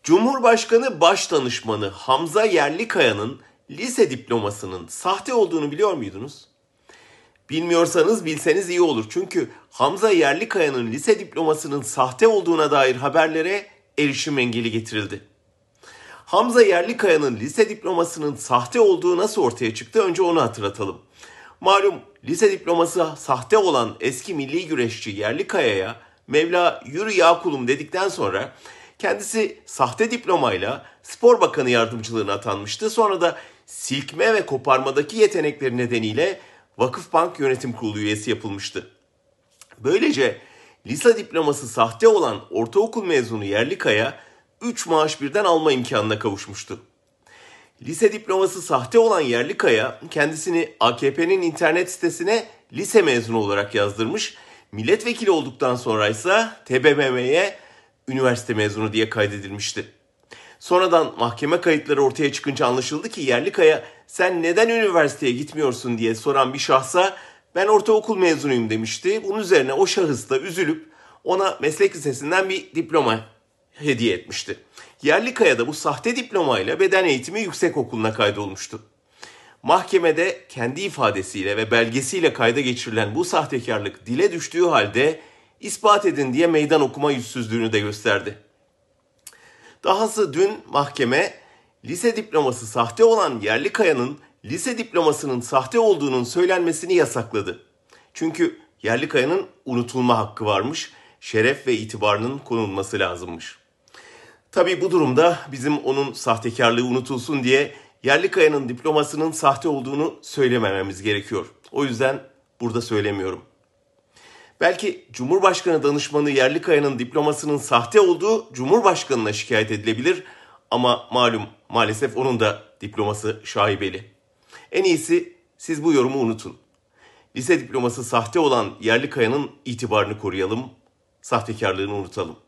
Cumhurbaşkanı Başdanışmanı Hamza Yerlikaya'nın lise diplomasının sahte olduğunu biliyor muydunuz? Bilmiyorsanız bilseniz iyi olur. Çünkü Hamza Yerlikaya'nın lise diplomasının sahte olduğuna dair haberlere erişim engeli getirildi. Hamza Yerlikaya'nın lise diplomasının sahte olduğu nasıl ortaya çıktı? Önce onu hatırlatalım. Malum lise diploması sahte olan eski milli güreşçi Yerlikaya'ya Mevla yürü ya kulum dedikten sonra kendisi sahte diplomayla Spor Bakanı yardımcılığına atanmıştı. Sonra da silkme ve koparmadaki yetenekleri nedeniyle Vakıfbank Yönetim Kurulu üyesi yapılmıştı. Böylece lise diploması sahte olan ortaokul mezunu Yerlikaya 3 maaş birden alma imkanına kavuşmuştu. Lise diploması sahte olan Yerlikaya kendisini AKP'nin internet sitesine lise mezunu olarak yazdırmış. Milletvekili olduktan sonra ise TBMM'ye üniversite mezunu diye kaydedilmişti. Sonradan mahkeme kayıtları ortaya çıkınca anlaşıldı ki Yerlikaya sen neden üniversiteye gitmiyorsun diye soran bir şahsa ben ortaokul mezunuyum demişti. Bunun üzerine o şahıs da üzülüp ona meslek lisesinden bir diploma hediye etmişti. Yerlikaya da bu sahte diplomayla beden eğitimi yüksekokulu'na kaydolmuştu. Mahkemede kendi ifadesiyle ve belgesiyle kayda geçirilen bu sahtekarlık dile düştüğü halde ispat edin diye meydan okuma yüzsüzlüğünü de gösterdi. Dahası dün mahkeme lise diploması sahte olan Yerlikaya'nın lise diplomasının sahte olduğunun söylenmesini yasakladı. Çünkü Yerlikaya'nın unutulma hakkı varmış, şeref ve itibarının korunması lazımmış. Tabii bu durumda bizim onun sahtekarlığı unutulsun diye Yerlikaya'nın diplomasının sahte olduğunu söylemememiz gerekiyor. O yüzden burada söylemiyorum. Belki Cumhurbaşkanı danışmanı Yerlikaya'nın diplomasının sahte olduğu Cumhurbaşkanı'na şikayet edilebilir ama maalesef onun da diploması şaibeli. En iyisi siz bu yorumu unutun. Lise diploması sahte olan Yerlikaya'nın itibarını koruyalım, sahtekarlığını unutalım.